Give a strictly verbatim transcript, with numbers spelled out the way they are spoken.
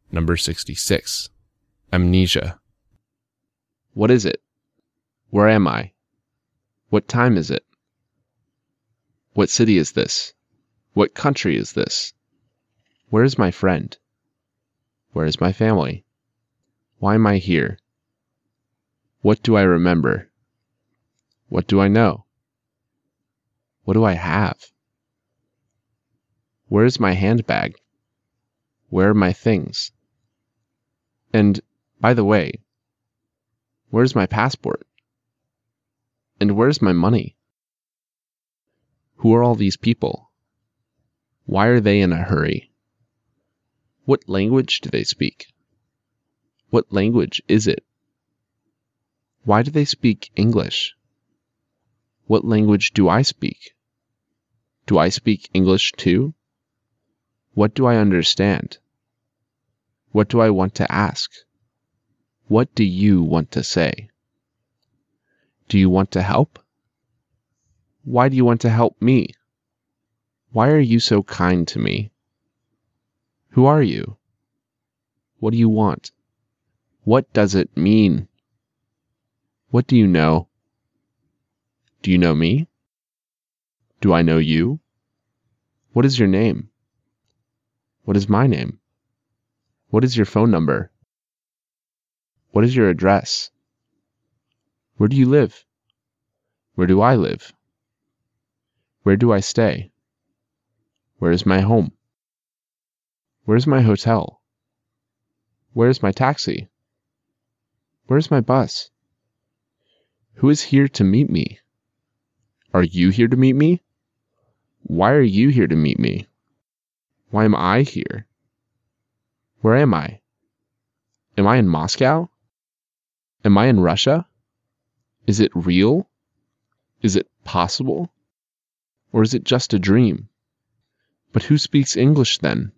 Number sixty-six. Amnesia. What is it? Where am I? What time is it? What city is this? What country is this? Where is my friend? Where is my family? Why am I here? What do I remember? What do I know? What do I have? Where is my handbag? Where are my things? And, by the way, where's my passport? And where's my money? Who are all these people? Why are they in a hurry? What language do they speak? What language is it? Why do they speak English? What language do I speak? Do I speak English too? What do I understand? What do I want to ask? What do you want to say? Do you want to help? Why do you want to help me? Why are you so kind to me? Who are you? What do you want? What does it mean? What do you know? Do you know me? Do I know you? What is your name? What is my name? What is your phone number? What is your address? Where do you live? Where do I live? Where do I stay? Where is my home? Where is my hotel? Where is my taxi? Where is my bus? Who is here to meet me? Are you here to meet me? Why are you here to meet me? Why am I here? Where am I? Am I in Moscow? Am I in Russia? Is it real? Is it possible? Or is it just a dream? But who speaks English then?